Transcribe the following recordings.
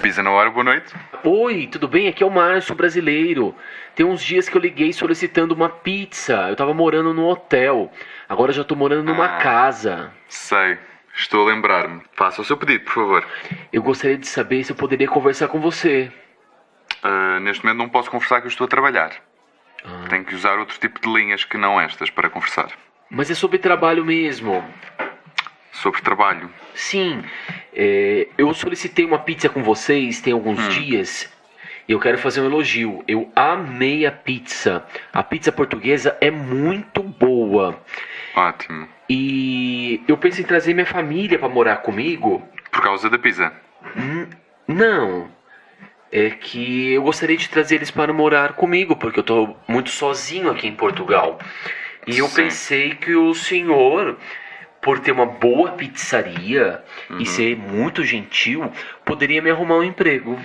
Pisa na hora, boa noite. Oi, tudo bem? Aqui é o Márcio, brasileiro. Tem uns dias que eu liguei solicitando uma pizza. Eu tava morando num hotel. Agora já tô morando numa casa. Sei, estou a lembrar-me. Faça o seu pedido, por favor. Eu gostaria de saber se eu poderia conversar com você. Neste momento não posso conversar que eu estou a trabalhar. Tenho que usar outro tipo de linhas que não estas para conversar. Mas é sobre trabalho mesmo. Sobre trabalho. Sim, eu solicitei uma pizza com vocês tem alguns dias. E eu quero fazer um elogio. Eu amei a pizza. A pizza portuguesa é muito boa. Ótimo. E eu penso em trazer minha família para morar comigo. Por causa da pizza? Não. É que eu gostaria de trazer eles para morar comigo, porque eu tô muito sozinho aqui em Portugal. E eu Sim. pensei que o senhor, por ter uma boa pizzaria e ser muito gentil, poderia me arrumar um emprego.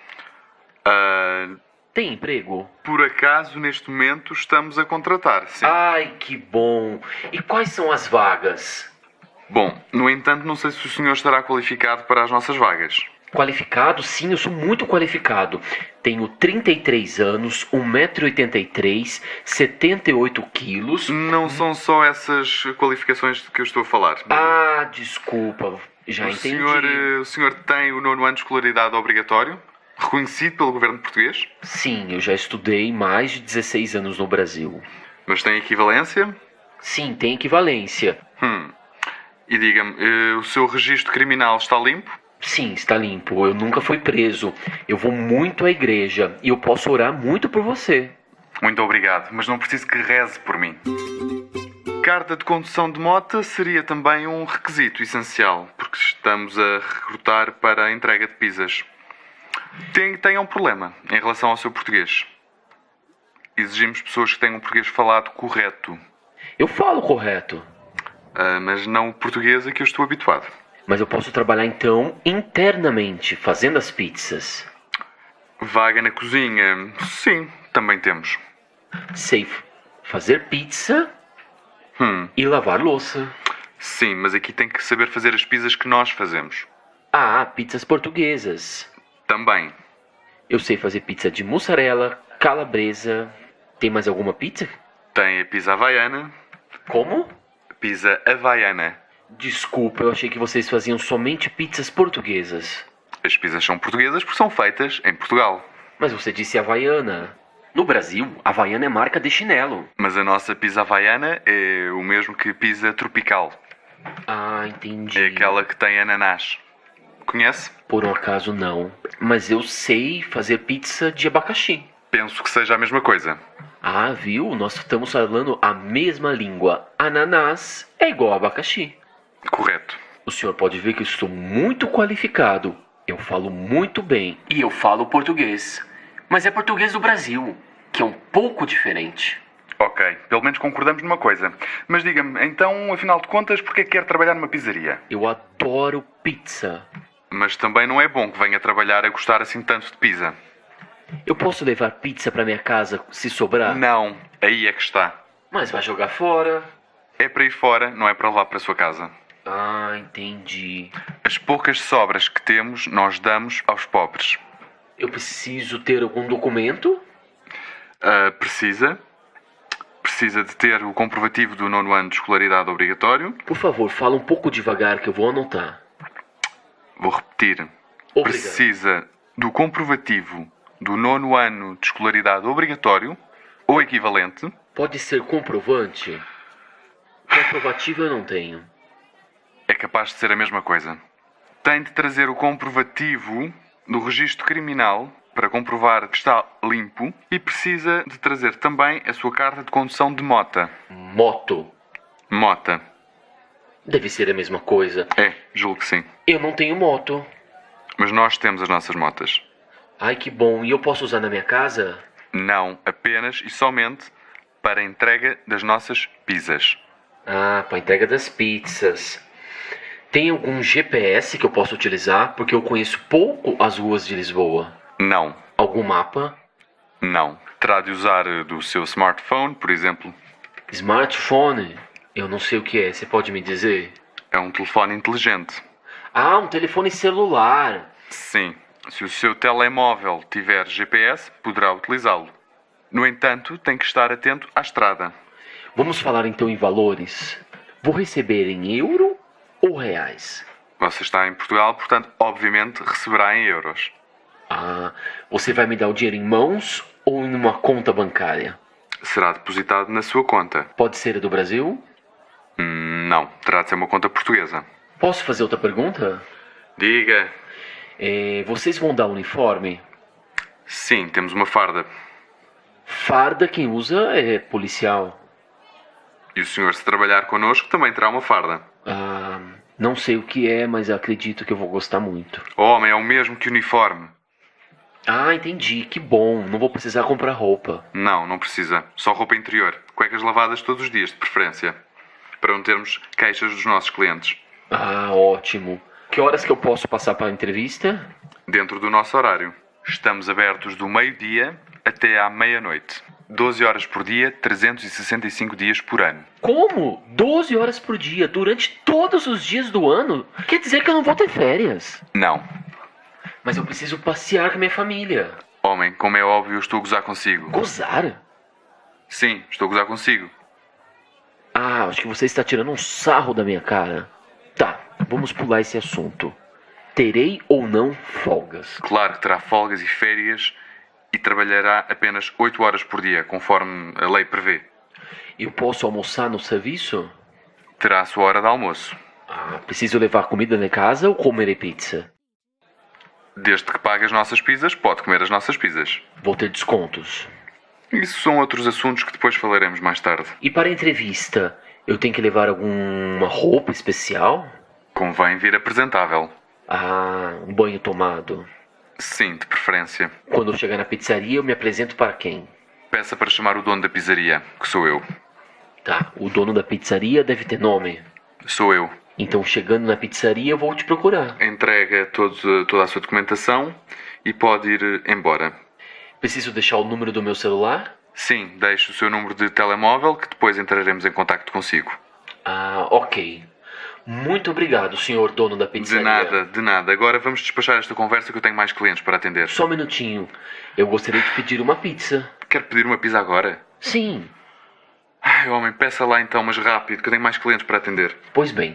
Tem emprego? Por acaso, neste momento, estamos a contratar, sim. Ai, que bom! E quais são as vagas? Bom, no entanto, não sei se o senhor estará qualificado para as nossas vagas. Qualificado? Sim, eu sou muito qualificado. Tenho 33 anos, 1,83 m, 78 quilos. Não são só essas qualificações de que eu estou a falar. Ah, desculpa, já O entendi. o senhor tem o 9º ano de escolaridade obrigatório, reconhecido pelo governo português, Sim, eu já estudei mais de 16 anos no Brasil. mas tem equivalência. Sim, tem equivalência. E diga-me, o seu registro criminal está limpo? Sim, está limpo. Eu nunca fui preso. Eu vou muito à igreja e eu posso orar muito por você. Muito obrigado, mas não preciso que reze por mim. Carta de condução de moto seria também um requisito essencial, porque estamos a recrutar para a entrega de pizzas. Tenha um problema em relação ao seu português. Exigimos pessoas que tenham um português falado correto, Eu falo correto. mas não o português a que eu estou habituado. Mas eu posso trabalhar então internamente, fazendo as pizzas. Vaga na cozinha? Sim, também temos. Sei fazer pizza e lavar louça. Sim, mas aqui tem que saber fazer as pizzas que nós fazemos. Ah, pizzas portuguesas. Também. Eu sei fazer pizza de mussarela, calabresa. Tem mais alguma pizza? Tem a pizza havaiana. Como? Pizza havaiana. Desculpa, eu achei que vocês faziam somente pizzas portuguesas. As pizzas são portuguesas porque são feitas em Portugal. Mas você disse havaiana. No Brasil, havaiana é marca de chinelo. Mas a nossa pizza havaiana é o mesmo que pizza tropical. Ah, entendi. É aquela que tem ananás. Conhece? Por um acaso não. Mas eu sei fazer pizza de abacaxi. Penso que seja a mesma coisa. Ah, viu? Nós estamos falando a mesma língua. Ananás é igual a abacaxi. Correto. O senhor pode ver que eu estou muito qualificado. Eu falo muito bem. E eu falo português. Mas é português do Brasil, que é um pouco diferente. Ok, pelo menos concordamos numa coisa. Mas diga-me, então, afinal de contas, porquê quer trabalhar numa pizzaria? Eu adoro pizza. Mas também não é bom que venha trabalhar a gostar assim tanto de pizza. Eu posso levar pizza para minha casa se sobrar? Não, aí é que está. Mas vai jogar fora. É para ir fora, não é para levar para a sua casa. Ah, entendi. As poucas sobras que temos, nós damos aos pobres. Eu preciso ter algum documento? Precisa de ter o comprovativo do 9º ano de escolaridade obrigatório. Por favor, fala um pouco devagar que eu vou anotar. Vou repetir. Obrigado. Precisa do comprovativo do 9º ano de escolaridade obrigatório ou equivalente. Pode ser comprovante? Comprovativo eu não tenho. É capaz de ser a mesma coisa. Tem de trazer o comprovativo do registro criminal para comprovar que está limpo e precisa de trazer também a sua carta de condução de mota. Moto. Mota. Deve ser a mesma coisa. É, julgo que sim. Eu não tenho moto. Mas nós temos as nossas motas. Ai, que bom. E eu posso usar na minha casa? Não apenas e somente para a entrega das nossas pizzas. Ah, para entrega das pizzas. Tem algum GPS que eu possa utilizar? Porque eu conheço pouco as ruas de Lisboa. Não. Algum mapa? Não. Terá de usar do seu smartphone, por exemplo. Smartphone? Eu não sei o que é. Você pode me dizer? É um telefone inteligente. Ah, um telefone celular. Sim. Se o seu telemóvel tiver GPS, poderá utilizá-lo. No entanto, tem que estar atento à estrada. Vamos falar então em valores. Vou receber em euro ou reais? Você está em Portugal, portanto, obviamente, receberá em euros. Ah, você vai me dar o dinheiro em mãos ou em uma conta bancária? Será depositado na sua conta. Pode ser a do Brasil? Não, terá de ser uma conta portuguesa. Posso fazer outra pergunta? Diga. Vocês vão dar uniforme? Sim, temos uma farda. Farda quem usa é policial. E o senhor, se trabalhar connosco, também terá uma farda. Ah, não sei o que é, mas acredito que eu vou gostar muito. O homem é o mesmo que uniforme. Ah, entendi. Que bom. Não vou precisar comprar roupa. Não precisa. Só roupa interior. Cuecas lavadas todos os dias, de preferência. Para não termos queixas dos nossos clientes. Ah, ótimo. Que horas que eu posso passar para a entrevista? Dentro do nosso horário. Estamos abertos do meio-dia até à meia-noite. 12 horas por dia, 365 dias por ano. Como? 12 horas por dia, durante todos os dias do ano? Quer dizer que eu não vou ter férias. Não. Mas eu preciso passear com a minha família. Homem, como é óbvio, eu estou a gozar consigo. Gozar? Sim, estou a gozar consigo. Ah, acho que você está tirando um sarro da minha cara. Tá, vamos pular esse assunto. Terei ou não folgas? Claro que terá folgas e férias e trabalhará apenas 8 horas por dia, conforme a lei prevê. Eu posso almoçar no serviço? Terá a sua hora de almoço. Ah, preciso levar comida de casa ou comerei pizza? Desde que pague as nossas pizzas, pode comer as nossas pizzas. Vou ter descontos. Isso são outros assuntos que depois falaremos mais tarde. E para a entrevista, eu tenho que levar alguma roupa especial? Convém vir apresentável. Ah, um banho tomado. Sim, de preferência. Quando eu chegar na pizzaria, eu me apresento para quem? Peça para chamar o dono da pizzaria, que sou eu. Tá, o dono da pizzaria deve ter nome. Sou eu. Então, chegando na pizzaria, eu vou te procurar. Entrega toda a sua documentação e pode ir embora. Preciso deixar o número do meu celular? Sim, deixe o seu número de telemóvel que depois entraremos em contacto consigo. Ah, ok. Muito obrigado, senhor dono da pizzaria. De nada. Agora vamos despachar esta conversa que eu tenho mais clientes para atender. Só um minutinho. Eu gostaria de pedir uma pizza. Quer pedir uma pizza agora? Sim. Ai, homem, peça lá então, mas rápido, que eu tenho mais clientes para atender. Pois bem.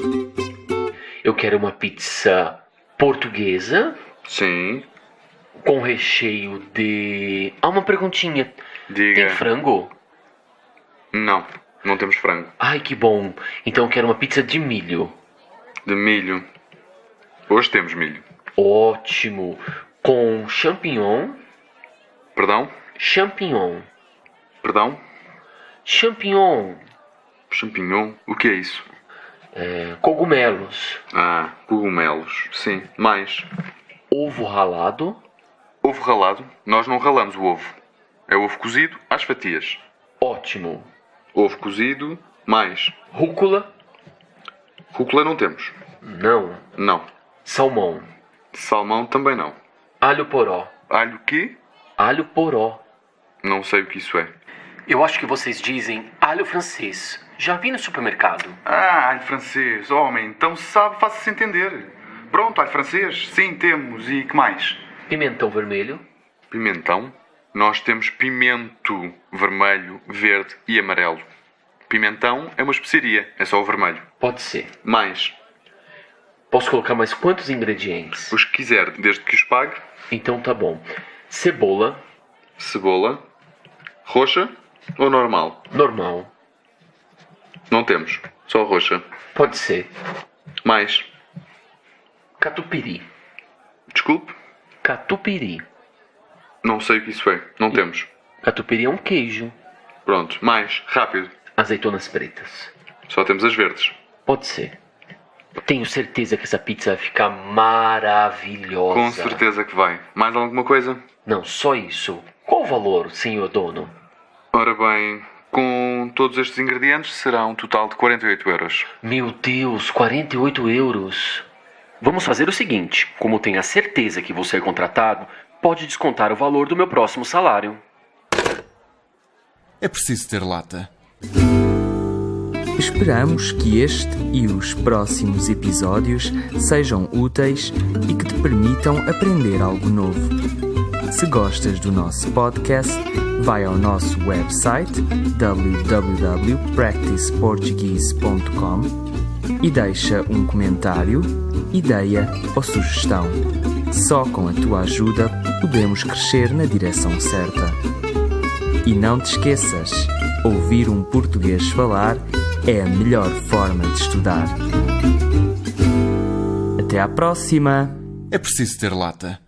Eu quero uma pizza portuguesa. Sim. Com recheio de... Ah, uma perguntinha. Diga. Tem frango? Não temos frango. Ai, que bom. Então eu quero uma pizza de milho. De milho. Hoje temos milho. Ótimo. Com champignon. Perdão? Champignon. Perdão? Champignon. Champignon? O que é isso? Cogumelos. Ah, cogumelos. Sim. Mais. Ovo ralado. Ovo ralado? Nós não ralamos o ovo. É ovo cozido às fatias. Ótimo. Ovo cozido, mais. Rúcula. Rúcula não temos. Não. Salmão. Salmão também não. Alho poró. Alho quê? Alho poró. Não sei o que isso é. Eu acho que vocês dizem alho francês. Já vi no supermercado. Ah, alho francês. Homem, então sabe, faça-se entender. Pronto, alho francês. Sim, temos. E que mais? Pimentão vermelho. Pimentão? Nós temos pimento vermelho, verde e amarelo. Pimentão é uma especiaria, é só o vermelho. Pode ser. Mais. Posso colocar mais quantos ingredientes? Os que quiser, desde que os pague. Então tá bom. Cebola. Cebola. Roxa ou normal? Normal. Não temos, só roxa. Pode ser. Mais. Catupiry. Desculpe? Catupiry. Não sei o que isso é, não temos. Catupiry é um queijo. Pronto, mais, rápido. Azeitonas pretas. Só temos as verdes. Pode ser. Tenho certeza que essa pizza vai ficar maravilhosa. Com certeza que vai. Mais alguma coisa? Não, só isso. Qual o valor, senhor dono? Ora bem, com todos estes ingredientes será um total de 48 euros. Meu Deus, 48 euros. Vamos fazer o seguinte. Como tenho a certeza que vou ser contratado, pode descontar o valor do meu próximo salário. É preciso ter lata. Esperamos que este e os próximos episódios sejam úteis e que te permitam aprender algo novo. Se gostas do nosso podcast, vai ao nosso website www.practiceportuguese.com e deixa um comentário, ideia ou sugestão. Só com a tua ajuda podemos crescer na direção certa. E não te esqueças, ouvir um português falar é a melhor forma de estudar. Até à próxima! É preciso ter lata.